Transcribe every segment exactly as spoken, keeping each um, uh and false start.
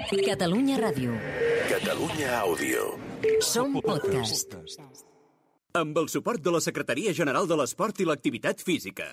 Catalunya Ràdio. Catalunya Àudio. Som podcast. Amb el suport de la Secretaria General de l'Esport i l'Activitat Física.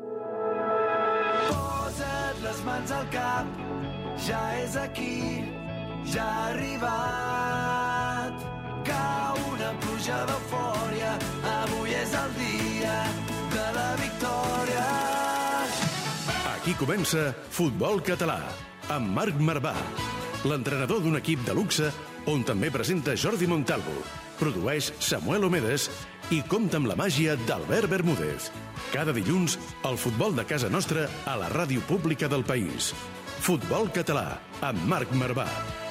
Posa't les mans al cap, ja és aquí, ja ha arribat. Cau una pluja d'eufòria, avui és el dia de la victòria. Aquí comença Futbol Català, amb Marc Marvà, l'entrenador d'un equip de luxe on també presenta Jordi Montalvo, produeix Samuel Omedes i compta amb la màgia d'Albert Bermúdez. Cada dilluns, el futbol de casa nostra a la ràdio pública del país. Futbol Català, amb Marc Marvà.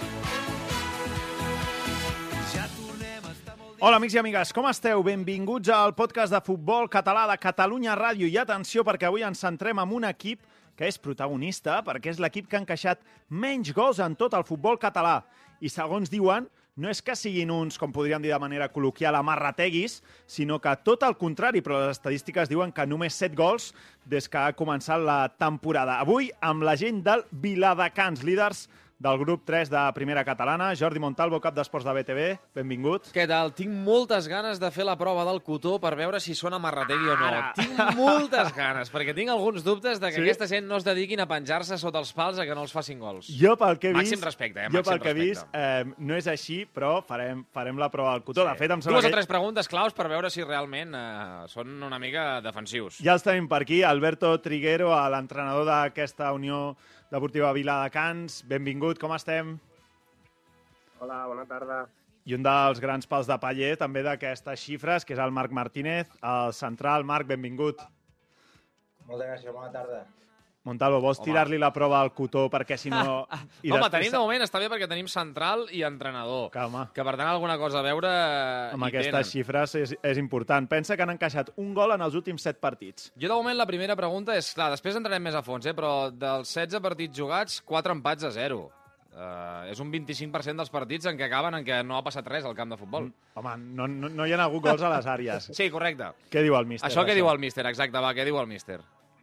Hola, amics i amigues, com esteu? Benvinguts al podcast de Futbol Català de Catalunya Ràdio. I atenció, perquè avui ens centrem en un equip que és protagonista, perquè és l'equip que ha encaixat menys gols en tot el futbol català. I segons diuen, no és que siguin uns, com podríem dir de manera col·loquial, amarrateguis, sinó que tot el contrari, però les estadístiques diuen que només set gols des que ha començat la temporada. Avui, amb la gent del Viladecans, líders del grup tres de Primera Catalana. Jordi Montalvo, cap d'Esports de B T V, benvingut. Què tal? Tinc moltes ganes de fer la prova del cotó per veure si són amarrategui o no. Ara. Tinc moltes ganes, perquè tinc alguns dubtes de que Sí? aquesta gent no es dediquin a penjar-se sota els pals a que no els facin gols. Jo pel que he vist, Màxim respecte, eh? jo Màxim pel que he vist respecte. eh, no és així, però farem, farem la prova del cotó. De fet, em sembla Dues o que tres preguntes claus per veure si realment eh, són una mica defensius. ja els tenim per aquí. Alberto Triguero, l'entrenador d'aquesta Unió Deportiva Viladecans. Benvingut, com estem? Hola, bona tarda. I un dels grans pals de paller també d'aquestes xifres, que és el Marc Martínez, el central. Marc, benvingut. Moltes gràcies, bona tarda. Montalvo, vols Home. tirar-li la prova al cotó perquè si no... I Home, després- tenim de moment, està bé perquè tenim central i entrenador. Que, home, Que per tant alguna cosa a veure eh, amb hi aquestes tenen. xifres és, és important. Pensa que han encaixat un gol en els últims set partits. Jo, de moment, la primera pregunta és, clar, després entrarem més a fons, eh, però dels setze partits jugats, quatre empats a zero. Uh, és un vint-i-cinc per cent dels partits en què acaben en què no ha passat res al camp de futbol. Home, no, no, no hi ha hagut gols a les àrees. Sí, correcte. Què diu el míster? Això que diu el míster, exacte, va, què diu el míster?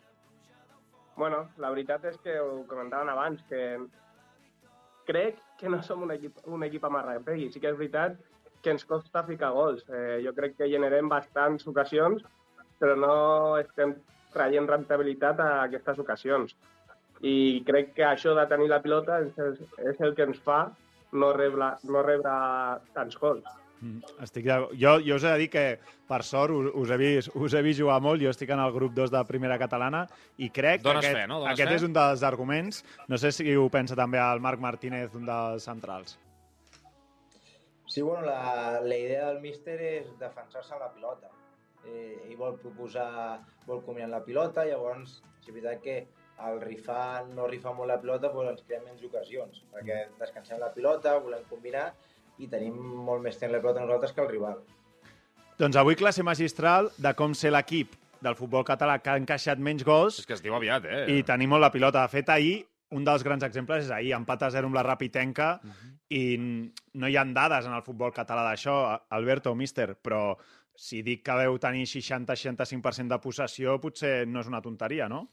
Bueno, la veritat és que ho comentaven abans, que crec que no som un equip, un equip amarrategui. Sí que és veritat que ens costa ficar gols. Eh, jo crec que generem bastants ocasions, però no estem traient rentabilitat a aquestes ocasions. I crec que això de tenir la pilota és el, és el que ens fa no rebre, no rebre tants gols. Mm, Estic de... jo, jo us he de dir que, per sort, us, us, he vist, us he vist jugar molt. Jo estic en el grup dos de Primera Catalana i crec Dones que aquest, fe, no? Dones aquest fe? és un dels arguments. No sé si ho pensa també el Marc Martínez, un dels centrals. Sí, bueno, la, la idea del míster és defensar-se amb la pilota. Eh, ell vol proposar, vol combinant la pilota, llavors, si és veritat que el rifar, no rifar molt la pilota, doncs ens creem menys ocasions, perquè descansem la pilota, volem combinar i tenim molt més temps la pilota nosaltres que el rival. Doncs avui classe magistral de com ser l'equip del futbol català que ha encaixat menys gols És que es diu aviat, eh? i tenir molt la pilota. De fet, ahir, un dels grans exemples és ahir, empat a zero amb la Rapitenca, uh -huh. i no hi ha dades en el futbol català d'això, Alberto, míster, però si dic que deu tenir seixanta a seixanta-cinc per cent de possessió, potser no és una tonteria, no?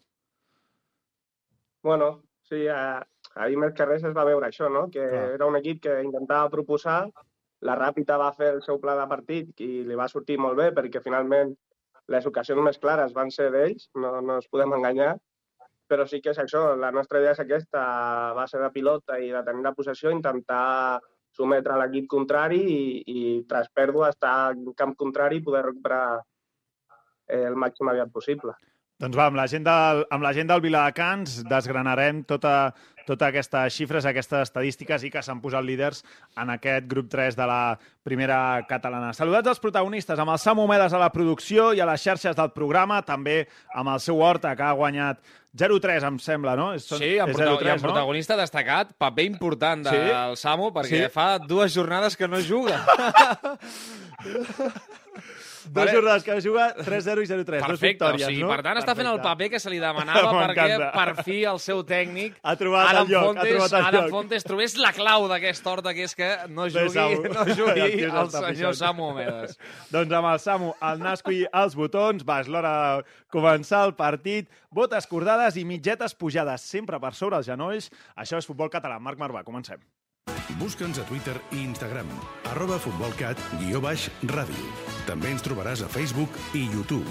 Bueno, sí, eh, ahir més que res es va veure això, no? Que Clar. era un equip que intentava proposar, la Ràpita va fer el seu pla de partit i li va sortir molt bé perquè finalment les ocasions més clares van ser d'ells, no, no ens podem enganyar, però sí que és això, la nostra idea és aquesta, va ser de pilota i de tenir la possessió, intentar sometre l'equip contrari i, i tras pèrdua estar en camp contrari i poder recuperar eh, el màxim aviat possible. Doncs va, amb la gent del, amb la gent del Viladecans desgranarem tota, totes aquestes xifres, aquestes estadístiques i que s'han posat líders en aquest grup tres de la Primera Catalana. Saludats als protagonistes, amb el Samu Omedes a la producció i a les xarxes del programa, també amb el seu Horta, que ha guanyat zero tres, em sembla, no? És, Sí, amb, és prota zero tres, i amb protagonista destacat, paper important Sí? del Samu, perquè Sí? fa dues jornades que no juga. Dos jornades que juga tres zero i zero tres. Dos Perfecte, victòries, o sigui, no? per tant està fent el Perfecte. paper que se li demanava perquè M'encanta. per fi el seu tècnic, Ha trobat el Adam lloc, ha Fontes, trobat el Adam lloc. Fontes trobés la clau d'aquesta horta, que és que no Bé, jugui, Samu. no El jugui tio el s'està senyor pixant. Samu Omedes. Doncs amb el Samu, el Nasco i els botons, va, és l'hora de començar el partit. Botes cordades i mitgetes pujades sempre per sobre els genolls. Això és Futbol Català. Marc Marvà, comencem. Busca'ns a Twitter i Instagram, arroba futbolcat, guió baix, ràdio. També ens trobaràs a Facebook i YouTube.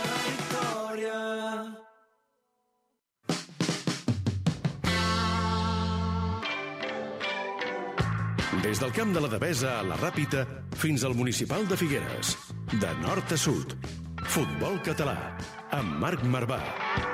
Des del camp de la Devesa a la Ràpita fins al municipal de Figueres. De nord a sud. Futbol Català. Amb Marc Marvà.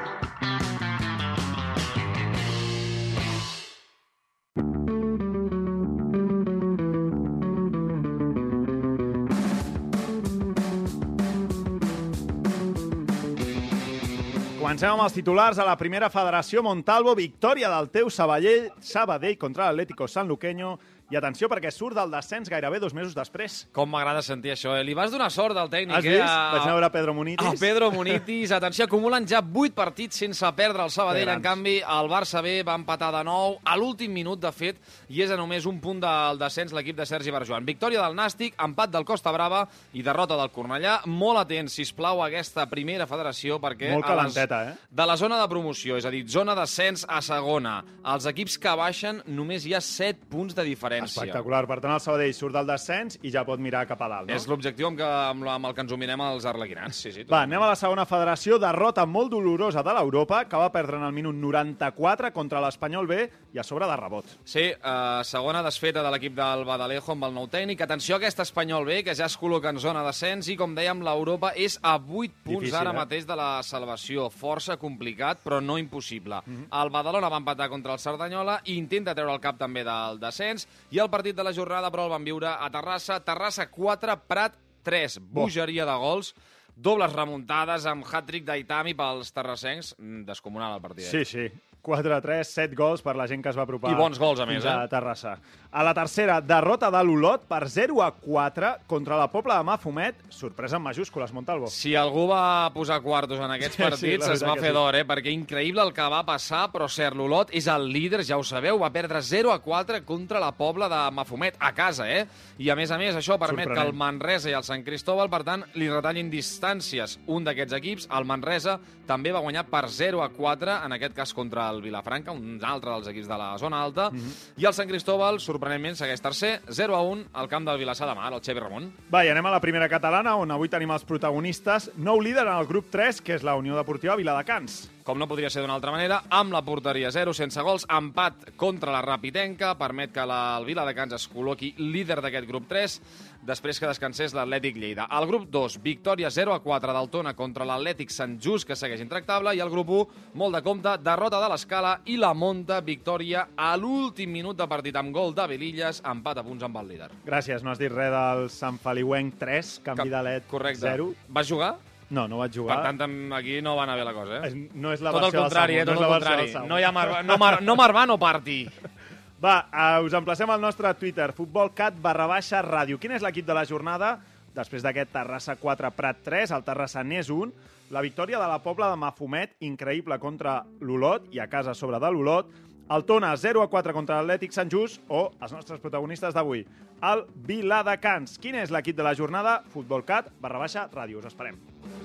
Comencem amb els titulars a la primera federació. Montalvo, victòria del teu Sabadell, Sabadell contra l'Atlético Sanluqueño. I atenció, perquè surt del descens gairebé dos mesos després. Com m'agrada sentir això, eh? Li vas donar sort al tècnic, Has eh? vist? Vaig anar a veure Pedro Munitis. A Pedro Munitis. Atenció, acumulen ja vuit partits sense perdre el Sabadell. En canvi, el Barça B va empatar de nou a l'últim minut, de fet, i és a només un punt del descens l'equip de Sergi Barjoan. Victòria del Nàstic, empat del Costa Brava i derrota del Cornellà. Molt atents, sisplau, a aquesta primera federació, perquè Molt calenteta, eh? de la zona de promoció, és a dir, zona d'ascens a segona, els equips que baixen només hi ha set punts de diferència. Espectacular. Per tant, el Sabadell surt del descens i ja pot mirar cap a dalt, no? És l'objectiu amb, que, amb, la- amb el que ens ho mirem els arlequinats. Sí, sí, Va, anem a la segona federació. Derrota molt dolorosa de l'Europa, que va perdre en el minut noranta-quatre contra l'Espanyol B i a sobre de rebot. Sí, eh, segona desfeta de l'equip del Badalejo amb el nou tècnic. Atenció a aquest Espanyol B, que ja es col·loca en zona d'ascens i, com dèiem, l'Europa és a vuit punts Difícil, ara eh? mateix de la salvació. Força complicat, però no impossible. El Badalona va empatar contra el Cerdanyola i intenta treure el cap també del descens. I el partit de la jornada, però, el van viure a Terrassa. Terrassa quatre, Prat tres. Bogeria de gols. Dobles remuntades amb hat-trick d'Aitami pels terrassencs. Mm, Descomunal el partit. Sí, sí. quatre a tres, set gols per la gent que es va apropar. I bons gols, a més, fins a eh? Terrassa. A la tercera, derrota de l'Olot per zero a quatre contra la Pobla de Mafumet. Sorpresa en majúscules, Montalvo. Si algú va posar quartos en aquests Sí, sí, partits, la es va veritat que fer sí. d'or, eh? Perquè increïble el que va passar, però cert, l'Olot és el líder, ja ho sabeu, va perdre zero a quatre contra la Pobla de Mafumet, a casa, eh? I a més a més, això permet Sorprenent. que el Manresa i el Sant Cristóbal, per tant, li retallin distàncies un d'aquests equips. El Manresa també va guanyar per zero a quatre, en aquest cas contra el Vilafranca, un altre dels equips de la zona alta, Mhm. i el Sant Cristóbal, sorprenentment, segueix tercer, zero a un, al camp del Vilassar de Mar, el Xevi Ramon. Va, i anem a la primera catalana, on avui tenim els protagonistes. Nou líder en el grup tres, que és la Unió Deportiva Viladecans. Com no podria ser d'una altra manera, amb la porteria zero, sense gols, empat contra la Rapitenca, permet que la, el Viladecans es col·loqui líder d'aquest grup tres, després que descansés l'Atlètic Lleida. Al grup dos, victòria zero a quatre del Tona contra l'Atlètic Sant Just, que segueix intractable, i al grup u, molt de compte, derrota de l'Escala i la Monta, victòria a l'últim minut de partit amb gol de Belilles, empat a punts amb el líder. Gràcies, no has dit res del Sant Feliuenc tres, canvi de L E D Correcte. zero. Vas jugar? No, no vaig jugar. Per tant, tam- aquí no va anar bé la cosa, eh? És- no és la tot el versió del contrari, Samu, eh? no Tot és el la versió contrari. del Samu. No hi ha Marvà, no, Mar, no Marvà, no parti. Va, uh, us emplacem al nostre Twitter, futbolcat barra baixa ràdio. Quin és l'equip de la jornada? Després d'aquest Terrassa quatre, Prat tres, el Terrassanès un, la victòria de la Pobla de Mafumet, increïble contra l'Olot i a casa a sobre de l'Olot, el Tona zero a quatre contra l'Atlètic Sant Just o els nostres protagonistes d'avui, el Viladecans. Quin és l'equip de la jornada? futbolcat barra baixa ràdio. Us esperem.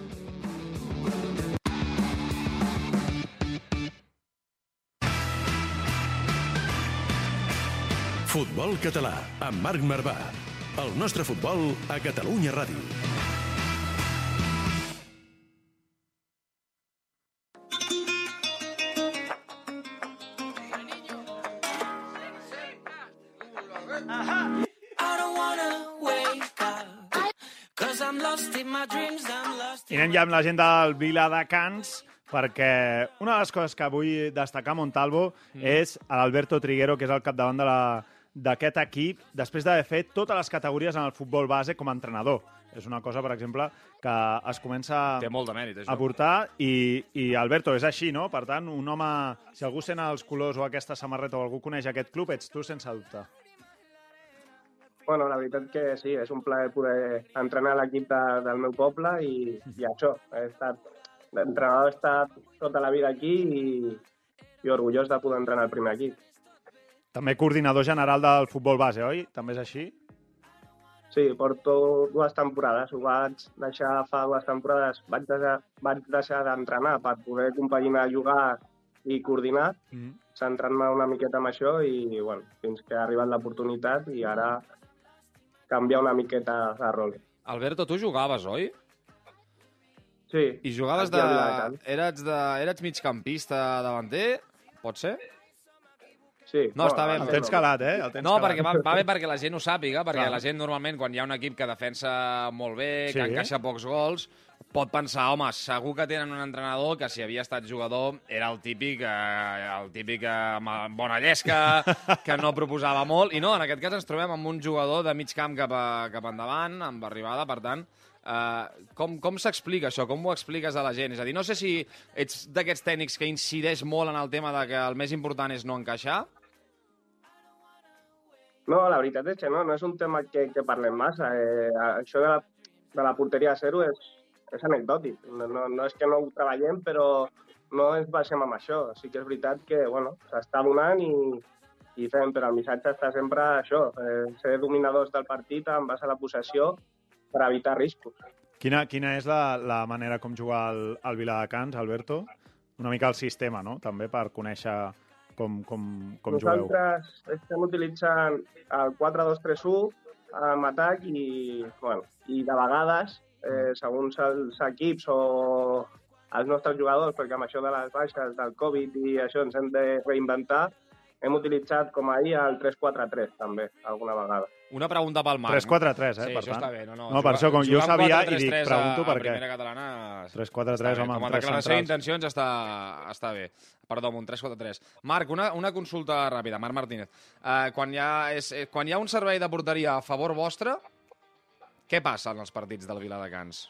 Futbol Català, amb Marc Marvà. El nostre futbol a Catalunya Ràdio. I anem ja amb la gent del Viladecans, perquè una de les coses que vull destacar a Montalvo mm. és l'Alberto Triguero, que és el capdavant de la d'aquest equip, després d'haver fet totes les categories en el futbol base com a entrenador. És una cosa, per exemple, que es comença Té molt de mèrit, això. a portar i, i Alberto, és així, no? Per tant, un home, si algú sent els colors o aquesta samarreta o algú coneix aquest club, ets tu sense dubte. Bueno, la veritat que sí, és un plaer poder entrenar l'equip de, del meu poble i, i això, he estat, l'entrenador he estat tota la vida aquí i, i orgullós de poder entrenar el primer equip. També coordinador general del futbol base, oi? També és així? Sí, porto dues temporades, ho vaig deixar fa dues temporades, vaig deixar, vaig deixar d'entrenar per poder compaginar jugar i coordinar, mm. centrant-me una miqueta amb això i, bueno, fins que ha arribat l'oportunitat i ara canviar una miqueta de rol. Alberto, tu jugaves, oi? Sí. I jugaves de... Eres, de... Eres migcampista davanter? Pot ser? Sí. No, està bé. El tens calat, eh? El tens no, calat. perquè va, va bé perquè la gent ho sàpiga, perquè Clar. la gent normalment, quan hi ha un equip que defensa molt bé, Sí. que encaixa pocs gols, pot pensar, home, segur que tenen un entrenador que si havia estat jugador era el típic, eh, el típic eh, amb bona llesca, que no proposava molt, i no, en aquest cas ens trobem amb un jugador de mig camp cap, a, cap endavant, amb arribada, per tant, eh, com, com s'explica això? Com ho expliques a la gent? És a dir, no sé si ets d'aquests tècnics que incideix molt en el tema de que el més important és no encaixar. No, la veritat és que no, no és un tema que, que parlem massa. Eh, això de la, de la porteria a zero és, és anecdòtic. No, no, no és que no ho treballem, però no ens basem en això. Sí que és veritat que bueno, s'està donant i, i fem, però el missatge està sempre això, eh, ser dominadors del partit en base a la possessió per evitar riscos. Quina, quina és la, la manera com jugar al, al Viladecans, Alberto? Una mica el sistema, no? També per conèixer com, com, com jugueu. Nosaltres estem utilitzant el quatre dos tres u amb atac i, bueno, i de vegades, eh, segons els equips o els nostres jugadors, perquè amb això de les baixes del Covid i això ens hem de reinventar, hem utilitzat com ahir el tres quatre tres també, alguna vegada. Una pregunta pel Marc. tres quatre tres, eh, sí, per això tant. està bé. No, no, no per això, com jo sabia, i dic, pregunto per què. A primera catalana... tres quatre tres, home, com a amb tres declaració centrals. d'intencions està, està bé. Perdó, amb un tres quatre tres. Marc, una, una consulta ràpida. Marc Martínez. Uh, quan, hi ha, és, quan hi ha un servei de porteria a favor vostre, què passa en els partits del Viladecans?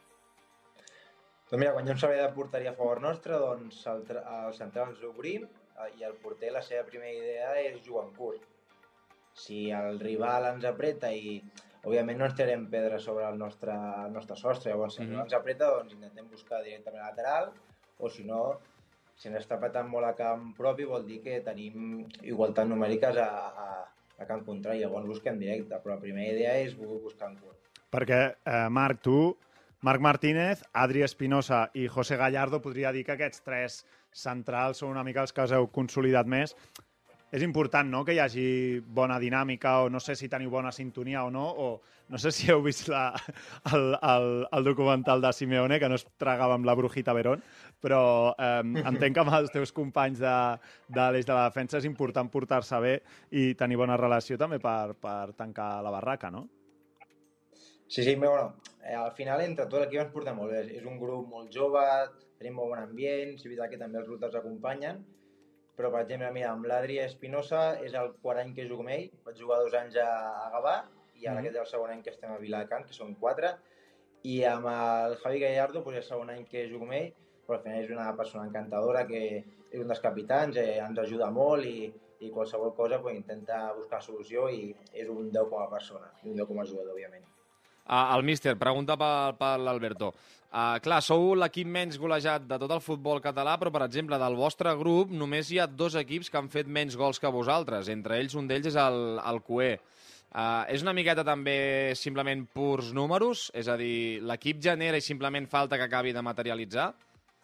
Doncs mira, quan hi ha un servei de porteria a favor nostre, doncs el, el central ens obrim i el porter, la seva primera idea és jugar en curt. Si el rival ens apreta i, òbviament, no ens tirem pedres sobre el nostre, el nostre sostre, llavors, si mm-hmm. ens apreta, doncs intentem buscar directament a lateral, o si no, si ens està apretant molt a camp propi, vol dir que tenim igualtat numèriques a, a, a camp contrari, llavors busquem directe, però la primera idea és buscar en curt. Perquè, eh, Marc, tu, Marc Martínez, Adri Espinosa i José Gallardo, podria dir que aquests tres centrals són una mica els que us heu consolidat més. És important, no?, que hi hagi bona dinàmica o no sé si teniu bona sintonia o no, o no sé si heu vist la, el, el, el documental de Simeone, que no es tragava amb la Brujita Verón, però eh, entenc que amb els teus companys de, de l'eix de la defensa és important portar-se bé i tenir bona relació també per, per tancar la barraca, no? Sí, sí, però bueno, eh, al final entre tot l'equip ens porta molt bé. És un grup molt jove, tenim molt bon ambient, és veritat que també els resultats acompanyen, però, per exemple, mira, amb l'Adri Espinosa és el quart any que jugo amb ell, vaig jugar dos anys a, a Gavà, i ara mm-hmm. aquest és el segon any que estem a Viladecans, que són quatre, i amb el Javi Gallardo doncs, és el segon any que jugo amb ell, però al final és una persona encantadora, que és un dels capitans, eh, ens ajuda molt i, i qualsevol cosa pues, intenta buscar solució i és un deu com a persona, i un deu com a jugador, òbviament. Uh, el míster, pregunta per, per l'Alberto. Uh, clar, sou l'equip menys golejat de tot el futbol català, però, per exemple, del vostre grup només hi ha dos equips que han fet menys gols que vosaltres. Entre ells, un d'ells és el, el Cué. Uh, és una miqueta també simplement purs números? És a dir, l'equip genera i simplement falta que acabi de materialitzar?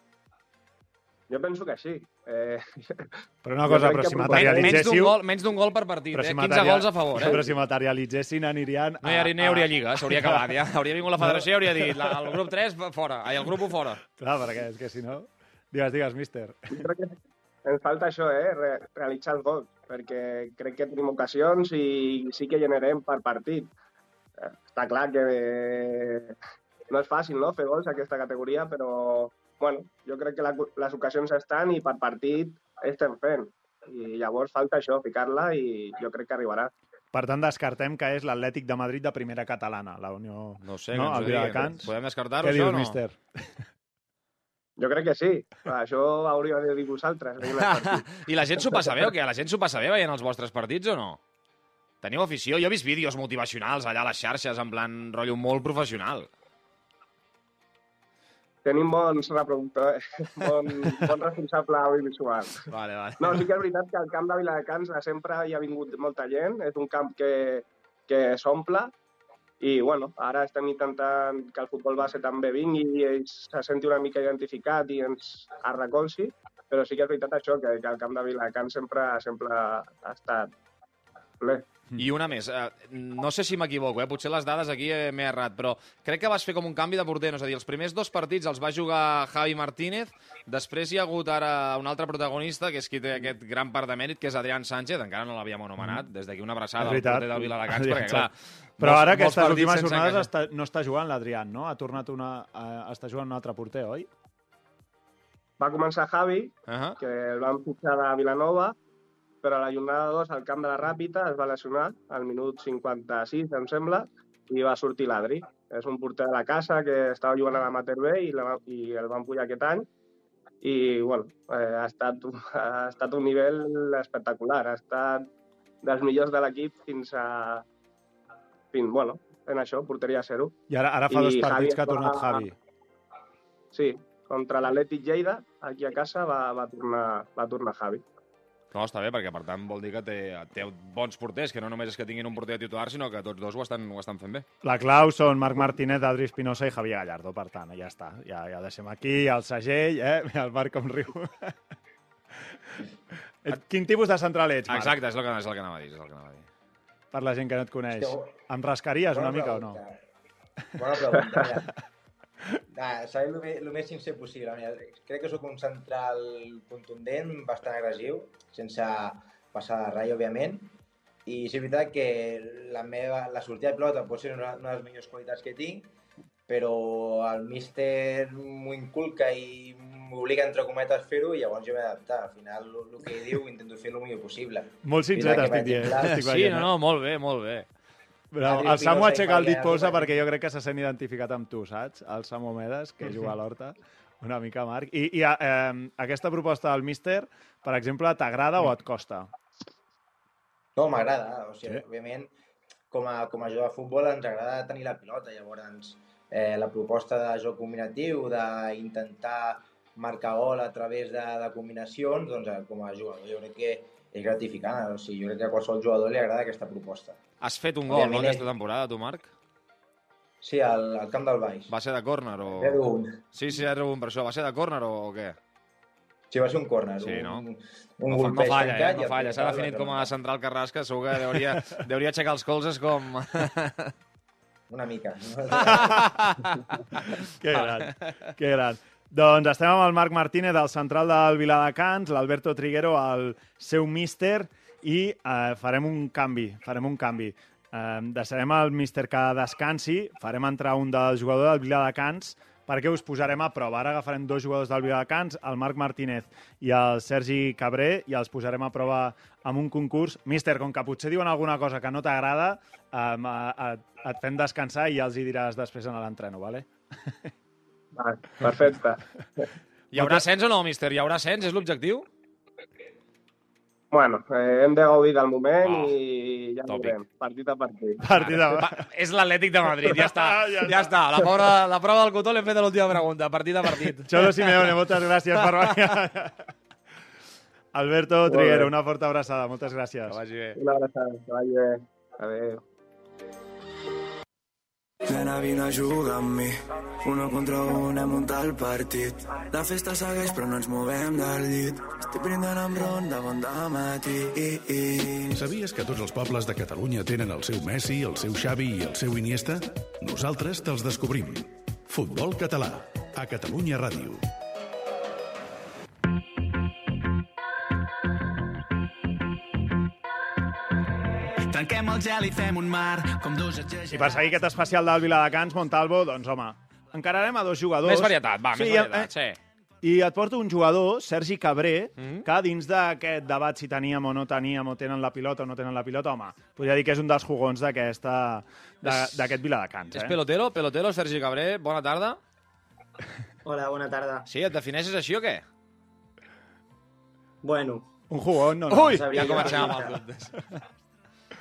Jo penso que sí. Eh... Però una cosa, però si materialitzéssiu... Menys d'un gol per partit, eh? Si quinze material... gols a favor, eh? Però si materialitzessin anirien... A... No hi hauria, no hi hauria lliga, s'hauria acabat, ja. Hauria vingut la federació i hauria dit la, el grup tres fora, ai, el grup u fora. Clar, perquè és que si no... Digues, digues, míster. Jo crec que ens falta això, eh? Re realitzar els gols, perquè crec que tenim ocasions i sí que generem per partit. Eh, està clar que eh, no és fàcil, no?, fer gols a aquesta categoria, però... Bueno, jo crec que la, les ocasions estan i per partit estem fent. I llavors falta això, ficar-la, i jo crec que arribarà. Per tant, descartem que és l'Atlètic de Madrid de primera catalana, la Unió... No sé, no? que ens ho diguin. Podem descartar-ho, això, dius, no? Míster? Jo crec que sí. Això hauria de dir vosaltres. I la gent s'ho passa bé o què? La gent s'ho passa bé veient els vostres partits o no? Teniu afició? Jo he vist vídeos motivacionals allà a les xarxes, en plan rotllo molt professional. Tenim bons reproductors, bon, bon responsable audiovisual. Vale, vale. No, sí que és veritat que al camp de Viladecans sempre hi ha vingut molta gent, és un camp que, que s'omple i, bueno, ara estem intentant que el futbol base també vingui i ell se senti una mica identificat i ens arrecolzi, però sí que és veritat això, que, que el camp de Viladecans sempre, sempre ha estat ple. I una més, eh, no sé si m'equivoco, eh? Potser les dades aquí eh, m'he errat, però crec que vas fer com un canvi de porter, no? És a dir, els primers dos partits els va jugar Javi Martínez, després hi ha hagut ara un altre protagonista, que és qui té aquest gran part de mèrit, que és Adrián Sánchez, encara no l'havíem anomenat, des d'aquí una abraçada al porter del Viladecans, perquè clar... Però molts, ara aquestes últimes jornades casa... està, no està jugant l'Adrián, no? Ha tornat una... Uh, està jugant un altre porter, oi? Va començar Javi, uh -huh. que el van fitxar de Vilanova, però a la jornada dos al camp de la Ràpita es va lesionar al minut cinquanta-sis, em sembla, i va sortir l'Adri. És un porter de la casa que estava jugant a l'Amateur B i, la, i el van pujar aquest any. I, bueno, eh, ha, estat, ha estat un nivell espectacular. Ha estat dels millors de l'equip fins a... Fins, bueno, en això, porteria zero. I ara, ara fa I dos partits que ha tornat va... Javi. Sí, contra l'Atlètic Lleida, aquí a casa, va, va, tornar, va tornar Javi. No, està bé, perquè per tant vol dir que té, té bons porters, que no només és que tinguin un porter titular, sinó que tots dos ho estan, ho estan fent bé. La clau són Marc Martínez, Adri Espinosa i Javier Gallardo, per tant, ja està. Ja, ja deixem aquí el segell, eh? El Marc com riu. Quin tipus de central ets, Marc? Exacte, és el que, és el que anava a dir, és el que anava a dir. Per la gent que no et coneix. Em rascaries una mica o no? Bona pregunta, ja. Nah, seré el més, el més sincer possible. Mira, crec que sóc un central contundent, bastant agressiu, sense passar de rai, òbviament. I és veritat que la, meva, la sortida de pilota pot ser una, una de les millors qualitats que tinc, però el míster m'ho inculca i m'obliga, entre cometes, a fer-ho i llavors jo m'he d'adaptar. Al final, el, el que diu, intento fer el millor possible. Molt sincer, estic dient. Sí, no, no, molt bé, molt bé. Però el Samu aixeca el dit polsa perquè jo crec que se sent identificat amb tu, saps? El Samu Medes, que juga a l'Horta, una mica, Marc. I, i eh, aquesta proposta del míster, per exemple, t'agrada o et costa? No, m'agrada. O sigui, sí. Òbviament, com a, com a jugador de futbol ens agrada tenir la pilota. Llavors, eh, la proposta de joc combinatiu, d'intentar marcar gol a través de, de combinacions, doncs com a jugador jo crec que és gratificant. O sigui, jo crec que a qualsevol jugador li agrada aquesta proposta. Has fet un gol, no, aquesta temporada, tu, Marc? Sí, al, al camp del Baix. Va ser de córner o...? zero un. Sí, sí, zero un, per això. Va ser de córner o, o què? Sí, va ser un córner. Sí, no? Un, un no, no, no falla, eh? No falla. S'ha definit com a central Carrasca, segur que hauria, hauria aixecar els colzes com... Una mica. Que gran, que gran. Doncs estem amb el Marc Martínez, el central del Viladecans, l'Alberto Triguero, el seu míster, i eh, farem un canvi, farem un canvi. Eh, deixarem el míster que descansi, farem entrar un dels jugadors del Viladecans perquè us posarem a prova. Ara agafarem dos jugadors del Viladecans, el Marc Martínez i el Sergi Cabré, i els posarem a prova amb un concurs. Míster, com que potser diuen alguna cosa que no t'agrada, eh, et fem descansar i ja els hi diràs després en l'entreno, vale? Ah, perfecte. Hi haurà ascens o no, míster? Hi haurà ascens? És l'objectiu? Bueno, eh, hem de gaudir del moment oh, i ja ho veurem, partit a partit. Partit a... Va, és l'Atlètic de Madrid, ja està. ja, ja està. La, pobra, la prova del cotó l'hem fet a l'última pregunta, partit a partit. Xolo Simeone, moltes gràcies per venir. Alberto Triguero, una forta abraçada, moltes gràcies. Que vagi bé. Una abraçada, que vagi bé. Adéu. Nena, vine a jugar amb mi. Uno contra un, hem muntat el partit. La festa segueix però no ens movem del llit. Estic brindant amb ron de bon dematí. Sabies que tots els pobles de Catalunya tenen el seu Messi, el seu Xavi i el seu Iniesta? Nosaltres te'ls descobrim. Futbol català, a Catalunya Ràdio. Tanquem el gel i fem un mar com dos exagerats. I per seguir aquest especial del Viladecans, Montalvo, doncs home, encararem a dos jugadors. Més varietat, va, sí, més varietat, sí. I et porto un jugador, Sergi Cabré, mm-hmm. que dins d'aquest debat si teníem o no teníem, o tenen la pilota o no tenen la pilota, home, podria dir que és un dels jugons d'aquest Viladecans. És eh? pelotero, pelotero, Sergi Cabré, bona tarda. Hola, bona tarda. Sí, et defineixes així o què? Bueno. Un jugón, no, no. Ui, ja comencem amb els dubtes.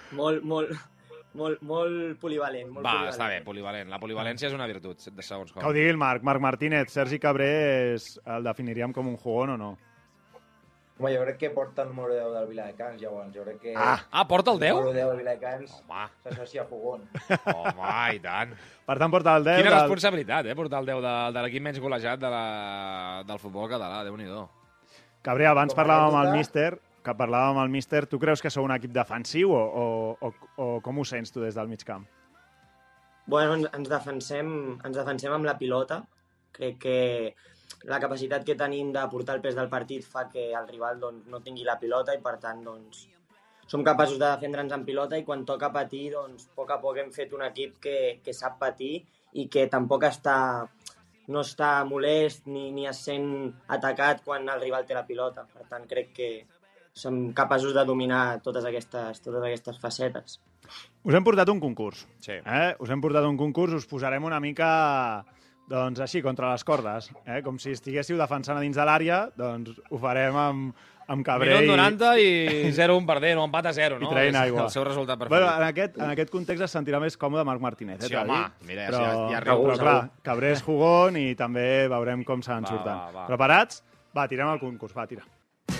Molt, molt, molt, molt polivalent. Molt Va, polivalent. està bé, polivalent. La polivalència és una virtut, de segons com. Que ho digui el Marc. Marc Martínez, Sergi Cabré és, el definiríem com un jugón o no? Home, jo crec que porta el número deu del Viladecans, llavors. Jo crec que... Ah, ah porta el deu? El número deu del Viladecans Home. s'associa a jugón. Home, i tant. Per tant, porta el deu... Quina del... responsabilitat, eh, portar el deu de, de l'equip menys golejat de la, del futbol català, Déu-n'hi-do. Cabré, abans Com a parlàvem amb el anècdota- míster, que parlàvem amb el míster. Tu creus que sou un equip defensiu o, o, o, o com ho sents tu des del mig camp? Bueno, ens, ens, defensem, ens defensem amb la pilota. Crec que la capacitat que tenim de portar el pes del partit fa que el rival doncs, no tingui la pilota i, per tant, doncs, som capaços de defendre'ns en pilota i quan toca patir, doncs, a poc a poc hem fet un equip que, que sap patir i que tampoc està, no està molest ni, ni es sent atacat quan el rival té la pilota. Per tant, crec que som capaços de dominar totes aquestes, totes aquestes facetes. Us hem portat un concurs. Sí. Eh? Us hem portat un concurs, us posarem una mica... Doncs així, contra les cordes. Eh? Com si estiguéssiu defensant a dins de l'àrea, doncs ho farem amb, amb Cabré Minut noranta i zero un perdent, o empat a zero, no? i traient És aigua. el seu resultat preferit. Bueno, en, aquest, en aquest context es sentirà més còmode Marc Martínez. Eh, Sí, t'ha home, dit? mira, però, ja- ja però, riu. però clar, Cabré és jugón i també veurem com se'n Va, surten. va, va. Preparats? Va, tirem el concurs, va, tira.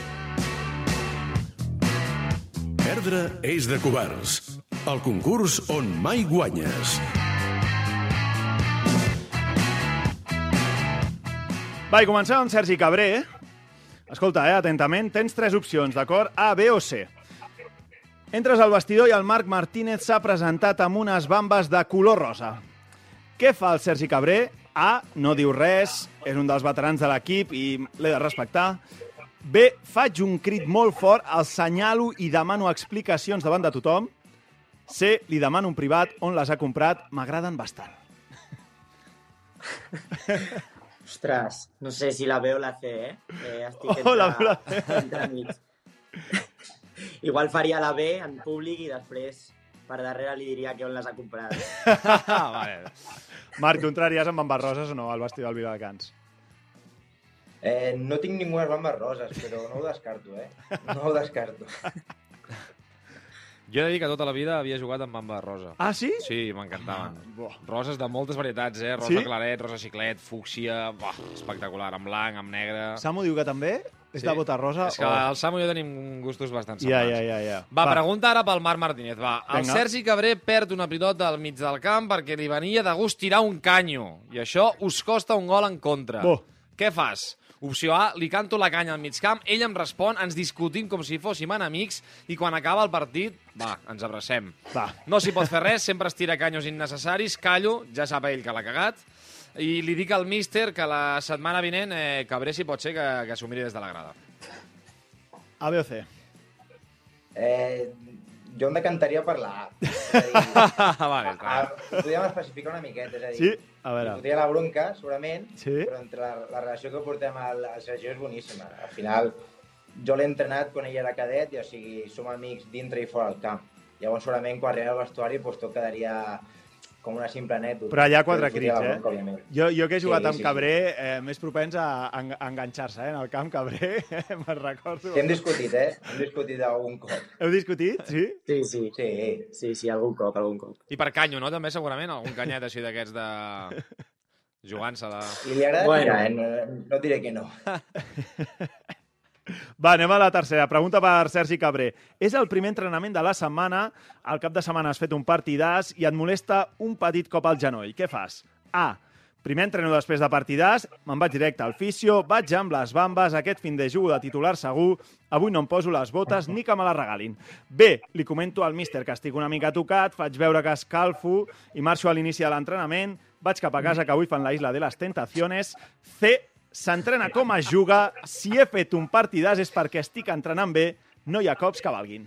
Perdre és de covards. El concurs on mai guanyes. Va, i comencem amb Sergi Cabré. Escolta, eh, atentament, tens tres opcions, d'acord? A, B o C. Entres al vestidor i el Marc Martínez s'ha presentat amb unes bambes de color rosa. Què fa el Sergi Cabré? A, no diu res, és un dels veterans de l'equip i l'he de respectar. B, faig un crit molt fort, el senyalo i demano explicacions davant de tothom. C, li demano un privat on les ha comprat, m'agraden bastant. Ostres, no sé si la B o la C, eh? eh estic entre, Oh, la B o la C. entre amics. Igual faria la B en públic i després per darrere li diria que on les ha comprat. Ah, vale. Marc, tu entraries amb bambes roses o no al vestidor del Viladecans? Eh, no tinc ninguna bambes roses, però no ho descarto, eh? No ho descarto. Jo he de dir que tota la vida havia jugat amb bamba rosa. Ah, sí? Sí, m'encantaven. Buah. Roses de moltes varietats, eh? Rosa Sí? claret, rosa xiclet, fúcsia... Buah, espectacular, amb blanc, amb negre... Samu diu que també? És de bota rosa? És que o... el Samu i jo tenim gustos bastant Ja, semblants. ja, ja, ja. Va, Va, pregunta ara pel Marc Martínez. Va, el Vinga. Sergi Cabré perd una pilota al mig del camp perquè li venia de gust tirar un canyo. I això us costa un gol en contra. Oh. Què fas? Opció A, li canto la canya al mig camp, ell em respon, ens discutim com si fóssim enemics i quan acaba el partit, va, ens abracem. Va. No s'hi pot fer res, sempre es tira canyos innecessaris, callo, ja sap ell que l'ha cagat, i li dic al míster que la setmana vinent eh, Cabré si pot ser que, que s'ho miri des de la grada. A, B o C? Eh, jo em decantaria per la A. És a dir, vale, està a, bé. podríem especificar una miqueta, és a dir, Sí? A veure. li fotria la bronca, segurament, Sí? però entre la, la relació que portem al, al Sergio és boníssima. Al final, jo l'he entrenat quan ell era cadet, i o sigui, som amics dintre i fora del camp. Llavors, segurament, quan arriba al vestuari, doncs, tot quedaria com una simple anècdota. Però allà quatre Però li fotria crits, la eh? bronca, òbviament. Jo, jo que he jugat Sí, amb sí, Cabré, eh, més propens a, a, a enganxar-se, eh? En el camp Cabré, me'n recordo. Sí, hem discutit, eh? Hem discutit algun cop. Heu discutit, sí? Sí, sí. Sí. Sí, sí, algun cop, algun cop. I per canyo, no? També, segurament, algun canyet així d'aquests de... jugant-se la... I li agrada Bueno. tirar, eh? No, no et diré que no. Va, anem a la tercera. Pregunta per Sergi Cabré. És el primer entrenament de la setmana, al cap de setmana has fet un partidàs i et molesta un petit cop al genoll. Què fas? A. Primer entreno després de partidàs, me'n vaig directe al fisio, vaig amb les bambes, aquest fin de jugo de titular segur, avui no em poso les botes ni que me les regalin. B. Li comento al míster que estic una mica tocat, faig veure que escalfo i marxo a l'inici de l'entrenament, vaig cap a casa que avui fan la Isla de les Tentaciones. C. S'entrena com es juga, si he fet un partidàs és perquè estic entrenant bé, no hi ha cops que valguin.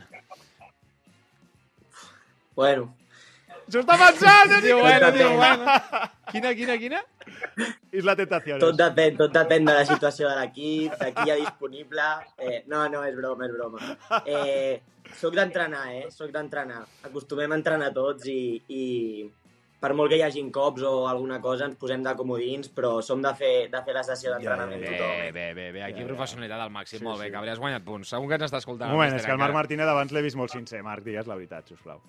Bueno, S'ho està pensant, eh? Diu, bueno, diu, Depèn. bueno. Quina, quina, quina? Isla Tentaciones. tot depèn, tot depèn de la situació de l'equip, de qui hi ha disponible. Eh, no, no, és broma, és broma. Eh, soc d'entrenar, eh? Soc d'entrenar. Acostumem a entrenar tots i, i, per molt que hi hagin cops o alguna cosa, ens posem de comodins, però som de fer, de fer la sessió d'entrenament Bé, tothom. bé, bé, bé, aquí professionalitat al màxim, molt bé, Cabri, has guanyat punts. Segur que ens està escoltant. Un moment, és que el Marc Martínez abans l'he vist molt sincer. Marc, digues la veritat, sisplau.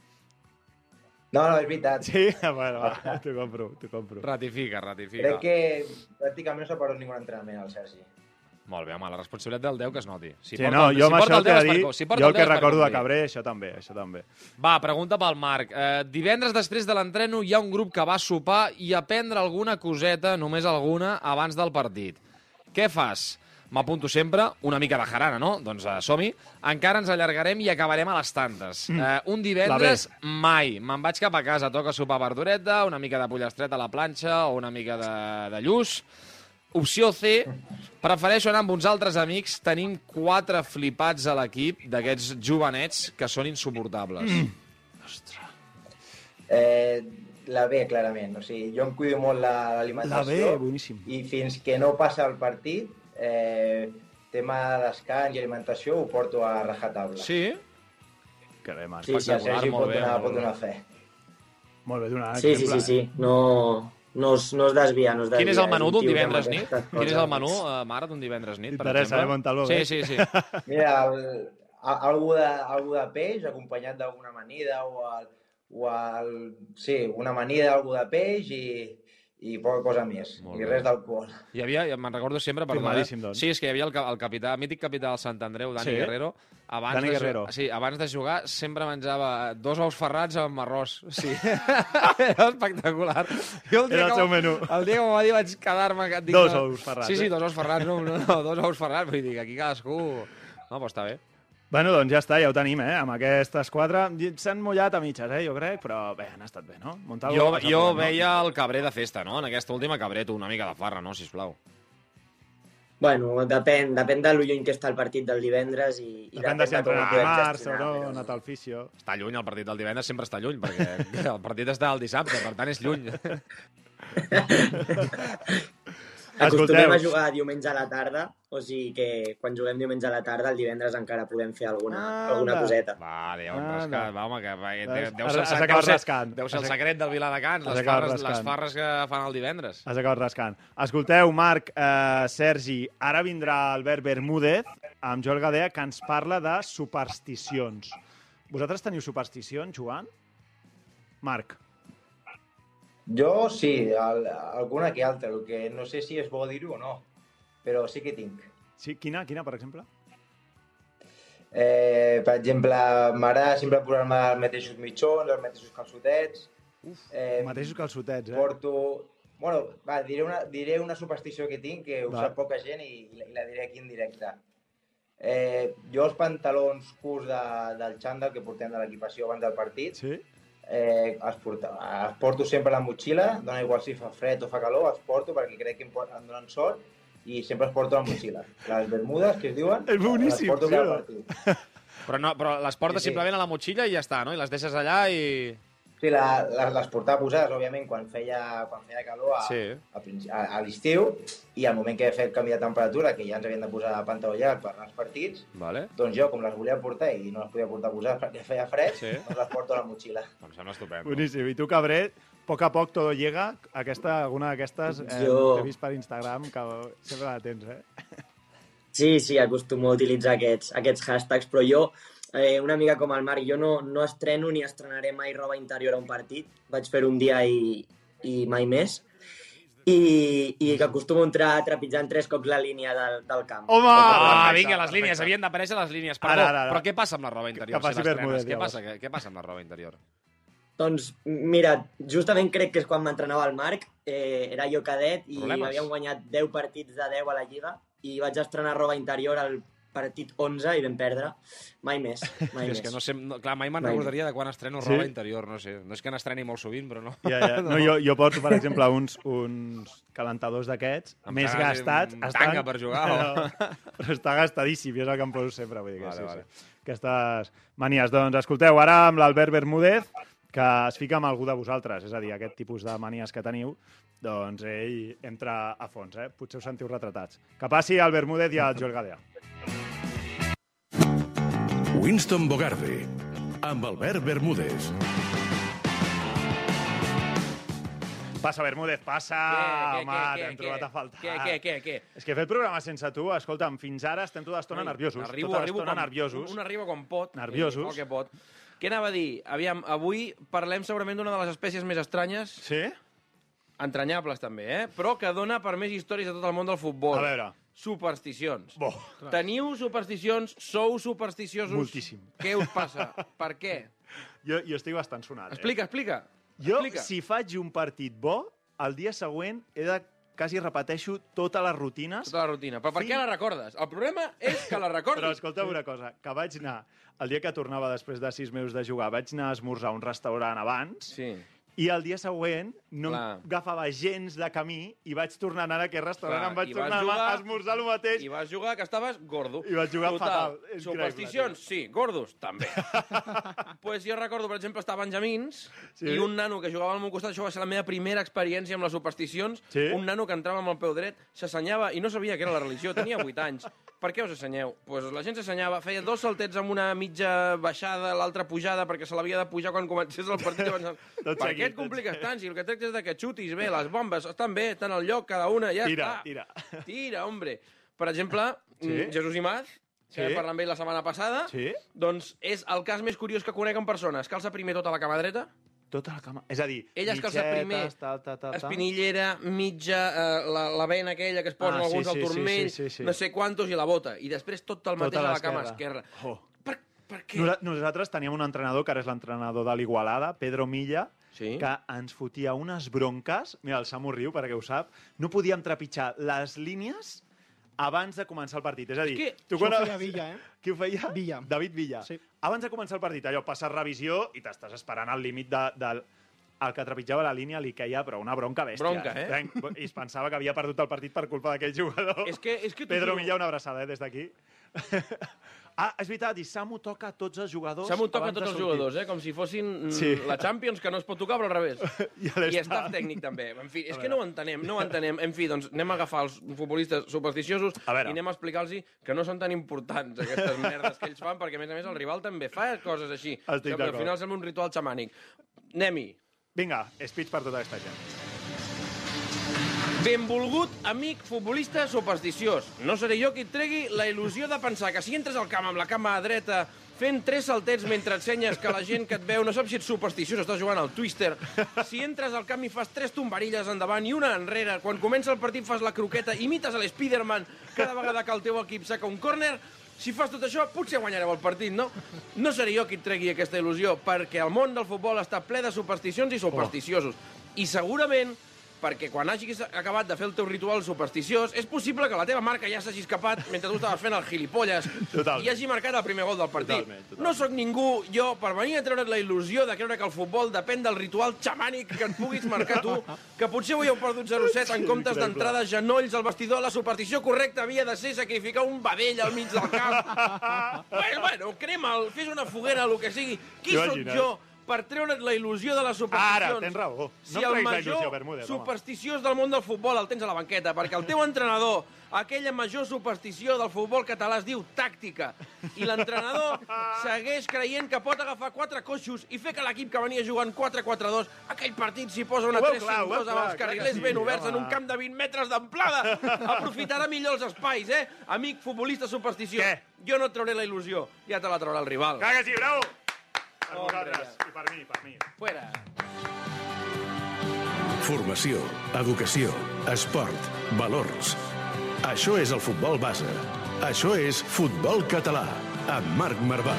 No, no, és veritat. Sí? Bueno, va, t'ho compro, t'ho compro. Ratifica, ratifica. Crec que pràcticament no s'ha perdut ningú entrenament, el Sergi. Molt bé, home, la responsabilitat del deu que es noti. Si Sí, no, jo amb això el que he de dir, si jo el que recordo de Cabré, això també, això també. Va, pregunta pel Marc. Eh, divendres després de l'entreno hi ha un grup que va sopar i a prendre alguna coseta, només alguna, abans del partit. Què fas? M'apunto sempre, una mica de jarana, no? Doncs uh, som-hi. Encara ens allargarem i acabarem a les tantes. Mm. Uh, un divendres, mai. Me'n vaig cap a casa, toca sopar verdureta, una mica de pollastreta a la planxa o una mica de, de lluç. Opció C, prefereixo anar amb uns altres amics. Tenim quatre flipats a l'equip d'aquests jovenets que són insuportables. Mm. Ostres. Eh, la B, clarament. O sigui, jo em cuido molt l'alimentació. La B, boníssim. I fins que no passa el partit, eh, tema de descans i alimentació ho porto a rajatabla. Sí? Que bé, Marc. Sí, sí, el Sergi pot donar, pot donar fe. Molt bé, donar Sí, exemple. sí, sí, sí. No... No es, no es desvia, no es desvia. Quin és el menú un d'un tio que divendres amb nit? aquestes Quin és coses, el menú, doncs. uh, mare, d'un divendres nit, per T'interessa, exemple? eh, Montalvo? Sí, sí, sí. Mira, el, a- algú, de, algú de peix acompanyat d'alguna amanida o, el, o el, sí, una amanida, algú de peix i, i poca cosa més. Molt I bé. res d'alcohol. Hi havia, me'n recordo sempre, perdó, eh? Firmadíssim, doncs. Sí, és que hi havia el, ca- el capità, mític capità del Sant Andreu, Dani Sí? Guerrero. Abans Dani de Guerrero. Jugar, sí, abans de jugar sempre menjava dos ous ferrats amb arròs. Sí. Era espectacular. Jo Era el seu menú. El dia que m'ho va dir vaig quedar-me... dic, Dos no, ous ferrats, Sí, sí, eh? dos ous ferrats, no, no, no, dos ous ferrats. Vull dir que aquí cadascú... No, però està bé. Bueno, doncs ja està, ja ho tenim, eh? Amb aquestes quatre. S'han mullat a mitges, eh? Jo crec, però bé, han estat bé, no? Montalvo, Jo, has jo aprovat, no? veia el cabrer de festa, no? En aquesta última cabrer, tu, una mica de farra, no? Sisplau. Bueno, depèn, depèn de lo lluny que està el partit del divendres i, i Depèn de si ha com ho entrenat podem dimarts o gestionar, no, però- ha anat al fisio. Està lluny, el partit del divendres sempre està lluny, perquè el partit està el dissabte, per tant és lluny. Acostumem Escolteu. a jugar diumenge a la tarda, o sigui que quan juguem diumenge a la tarda, el divendres encara podem fer alguna, Anda. alguna coseta. Vale, ja ho hem Ah, rascat, no. va, home, que va, deu, Has- deu has ser el, acabat deu ser, rascant. deu ser el Has- secret del Viladecans, has les acabat farres, les rascant. farres que fan el divendres. Has acabat rascant. Escolteu, Marc, eh, Sergi, ara vindrà Albert Bermúdez amb Joel Gadea, que ens parla de supersticions. Vosaltres teniu supersticions, jugant? Marc. Jo sí, el, alguna que altra, el que no sé si és bo dir-ho o no, però sí que tinc. Sí, quina, quina, per exemple? Eh, per exemple, m'agrada sempre posar-me els mateixos mitjons, els mateixos calçotets. Uf, Eh, mateixos calçotets, eh? Porto... Bueno, va, diré una, diré una superstició que tinc, que ho Va. sap poca gent i, i la- i la diré aquí en directe. Eh, jo els pantalons curts de, del xandall que portem de l'equipació abans del partit, Sí? eh, els, porta, els porto sempre a la motxilla, dona igual si fa fred o fa calor, els porto perquè crec que em, por- em donen sort i sempre els porto a la motxilla. Les bermudes, que es diuen, És boníssim, les porto sí, cada no? partit. Però, no, però les portes Sí, sí. simplement a la motxilla i ja està, no? I les deixes allà i... Sí, la, les, les portava posades, òbviament, quan feia, quan feia calor a, Sí. a, princi- a, a l'estiu i al moment que vam fer el canvi de temperatura, que ja ens havien de posar pantaló llarg per anar als partits, Vale. doncs jo, com les volia portar i no les podia portar posades perquè feia fred, Sí. doncs les porto a la motxilla. Em sembla estupendo. Boníssim. I tu, Cabré, a poc a poc todo llega. Aquesta, alguna d'aquestes eh, Jo- t'he vist per Instagram, que sempre la tens, eh? Sí, sí, acostumo a utilitzar aquests, aquests hashtags, però jo, eh, una mica com el Marc, jo no, no estreno ni estrenaré mai roba interior a un partit. Vaig fer un dia i, i mai més. I, i que acostumo a entrar trepitjant tres cops la línia del, del camp. Home! Ah, Perfecte, vinga, les línies, perfecte. havien d'aparèixer les línies. Perdó, Ara, ara, ara. però què passa amb la roba interior? Que faci si l'estrenes? Bermúdez, què, llavors. passa, què, què passa amb la roba interior? Doncs, mira, justament crec que és quan m'entrenava el Marc, eh, era jo cadet i Problemes? havíem guanyat deu partits de deu a la Lliga i vaig estrenar roba interior al partit onze i vam perdre. Mai més, mai És més. que no sé, no, clar, mai me'n Mai recordaria de quan estreno Sí? roba interior, no sé. No és que n'estreni molt sovint, però no. Ja, ja. No, jo, jo porto, per exemple, uns, uns calentadors d'aquests, Em més cagues, gastats. un tanga per jugar, o? Però, però està gastadíssim, i és el que em poso sempre. Vull dir que Vale, sí, vale. sí. Aquestes manies. Doncs escolteu, ara amb l'Albert Bermúdez, que es fica amb algú de vosaltres, és a dir, aquest tipus de manies que teniu, doncs ell entra a fons, eh? Potser us sentiu retratats. Que passi el Bermúdez i el Joel Gadea. Winston Bogarde, amb Albert Bermúdez. Passa, Bermúdez, passa! Què, Home, què, t'hem què, trobat què? a faltar. Què, què, què, què? És que he fet programa sense tu, escolta'm, fins ara estem tota l'estona nerviosos. Arribo, tota arribo l'estona quan, nerviosos. un arriba quan pot. Nerviosos. Eh, el que pot. Què anava a dir? Aviam, avui parlem segurament d'una de les espècies més estranyes. Sí? Entranyables, també, eh? Però que dona per més històries a tot el món del futbol. A veure. Supersticions. Bo. Teniu supersticions? Sou supersticiosos? Moltíssim. Què us passa? Per què? Jo, jo estic bastant sonat, eh? Explica, explica. Jo, explica. si faig un partit bo, el dia següent he de quasi repeteixo totes les rutines. Tota la rutina. Però per Fins- què la recordes? El problema és que la recordis. Però escolta una cosa, que vaig anar, el dia que tornava després de sis mesos de jugar, vaig anar a esmorzar a un restaurant abans, Sí. i el dia següent no Clar. em agafava gens de camí i vaig tornar a anar a aquest restaurant, Clar, em vaig i vas tornar jugar- a esmorzar el mateix. I vas jugar que estaves gordo. I vaig jugar Total. fatal. Increïble, Supersticions, sí. Gordos, també. pues jo recordo, per exemple, estar a Benjamins Sí. i un nano que jugava al meu costat, això va ser la meva primera experiència amb les supersticions, Sí. un nano que entrava amb el peu dret, s'assenyava i no sabia què era la religió, tenia vuit anys. Per què us assenyeu? Pues la gent s'assenyava, feia dos saltets amb una mitja baixada, l'altra pujada, perquè se l'havia de pujar quan comencés el partit. Abans... Tot per seguit, què et tot compliques seguit. tant? Si el que tractes és de que xutis bé, les bombes estan bé, estan al lloc, cada una, ja Tira, està. tira. Tira, hombre. Per exemple, Sí. mm, Jesús Imaz, que Sí. vam parlar amb ell la setmana passada, Sí? doncs és el cas més curiós que conec en persona. Es calça primer tota la cama dreta, Tota la cama. És a dir, ell es calça primer tal, tal, tal, tal. espinillera, mitja, eh, la, la vena aquella que es posen Ah, sí, alguns al sí, sí, turmell, sí, sí, sí. no sé quantos, i la bota. I després tot el mateix Tota a la cama l'esquerra. esquerra. Oh. Per, per què? Nosa- Nosaltres teníem un entrenador, que ara és l'entrenador de l'Igualada, Pedro Milla, Sí? que ens fotia unes bronques, mira, el Samu riu perquè ho sap, no podíem trepitjar les línies abans de començar el partit. És a dir, que tu Això quan... ho feia Villa, eh? Qui ho feia? Villa. David Villa. Sí. Abans de començar el partit, allò, passes revisió i t'estàs esperant al límit de, del... El que trepitjava la línia li queia, però una bronca bèstia. Bronca, eh? I es pensava que havia perdut el partit per culpa d'aquell jugador. És que, és que t'ho Pedro juro. Milla, una abraçada, eh, des d'aquí. Ah, és veritat, i Samu toca a tots els jugadors Samu toca abans de tots els sortir. jugadors, eh? Com si fossin mm, Sí. la Champions, que no es pot tocar, però al revés. I, a I l'estaf. staff tècnic, també. En fi, és A que no ho entenem, no ho entenem. En fi, doncs anem a agafar els futbolistes supersticiosos A veure. i anem a explicar-los que no són tan importants aquestes merdes que ells fan, perquè, a més a més, el rival també fa coses així. Estic Sembla- d'acord. Al final sembla un ritual xamànic. Anem-hi. Vinga, speech per tota aquesta gent. Benvolgut amic futbolista supersticiós. No seré jo qui et tregui la il·lusió de pensar que si entres al camp amb la cama dreta fent tres saltets mentre ensenyes que la gent que et veu no sap si ets supersticiós, estàs jugant al Twister. Si entres al camp i fas tres tombarilles endavant i una enrere, quan comença el partit fas la croqueta, imites a l'Spiderman cada vegada que el teu equip saca un córner, si fas tot això, potser guanyareu el partit, no? No seré jo qui et tregui aquesta il·lusió, perquè el món del futbol està ple de supersticions i supersticiosos. I segurament perquè quan hagis acabat de fer el teu ritual supersticiós, és possible que la teva marca ja s'hagi escapat mentre tu estaves fent el gilipolles Totalment. i hagi marcat el primer gol del partit. Totalment, totalment. No sóc ningú, jo, per venir a treure't la il·lusió de creure que el futbol depèn del ritual xamànic que et puguis marcar tu, que potser avui heu perdut zero set en comptes increïble. d'entrades genolls al vestidor. La superstició correcta havia de ser sacrificar un vedell al mig del camp. Pues, bueno, crema'l, fes una foguera, el que sigui. Qui sóc Imagina't. jo per treure't la il·lusió de les supersticions? Ara, tens raó. No Si em el treguis la major il·lusió, Bermúdez, home. supersticiós del món del futbol el tens a la banqueta, perquè el teu entrenador, aquella major superstició del futbol català es diu tàctica, i l'entrenador segueix creient que pot agafar quatre coixos i fer que l'equip que venia jugant quatre quatre dos, aquell partit s'hi posa una Ho veu tres clar, ho cinc veu dos amb clar, els clar que carrilers sí, ben oberts en home. un camp de vint metres d'amplada. Aprofitarà millor els espais, eh? Amic futbolista supersticiós. Què? Jo no et trauré la il·lusió, ja te la traurà el rival. Clar que sí, bravo! Per Hombre, vosaltres, i per mi, per mi. Fuera. Formació, educació, esport, valors. Això és el futbol base. Això és Futbol Català, amb Marc Marvà.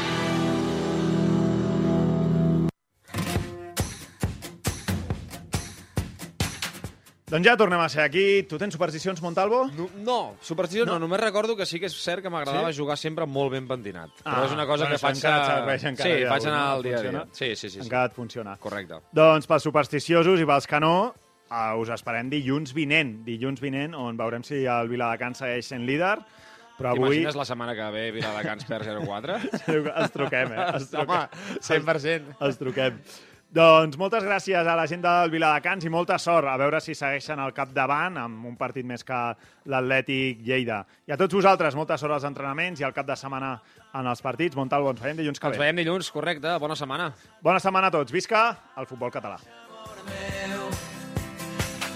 Doncs ja tornem a ser aquí. Tu tens supersticions, Montalvo? No, no superstició no. No. no, només recordo que sí que és cert que m'agradava Sí? jugar sempre molt ben pentinat. Ah, Però és una cosa bueno, que això faig... encara et a- serveix, encara, sí, ja, faig anar no? al dia a dia. Funciona? Sí, sí, sí. sí. Encara et funciona. Correcte. Doncs pels supersticiosos i pels que no, uh, us esperem dilluns vinent. Dilluns vinent, on veurem si el Viladecans segueix sent líder. Però avui T'imagines la setmana que ve Viladecans per zero quatre? els truquem, eh? Els truquem. Home, cent per cent. Els truquem. Doncs moltes gràcies a la gent del Viladecans i molta sort. A veure si segueixen al capdavant amb un partit més que l'Atlètic Lleida. I a tots vosaltres, molta sort als entrenaments i al cap de setmana en els partits. Montalvo, ens veiem dilluns que Ens ve. veiem dilluns, correcte. Bona setmana. Bona setmana a tots. Visca el futbol català. meu,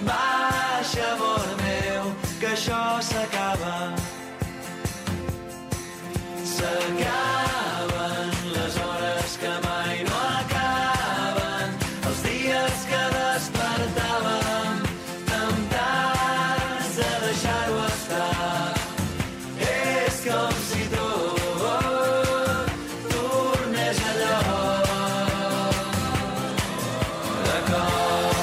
Baixa, amor meu, que això s'acaba. S'acaben les hores que mai no acaben, els dies que despertàvem temptats de deixar-ho estar. És com si tot tornés allò de cor.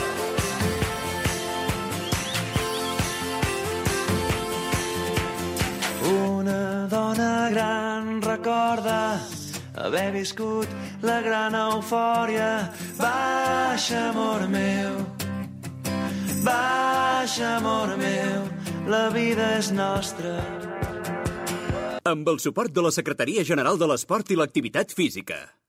Una dona gran recorda haver viscut la gran eufòria. Baixa, amor meu, baixa, amor meu, la vida és nostra. Amb el suport de la Secretaria General de l'Esport i l'Activitat Física.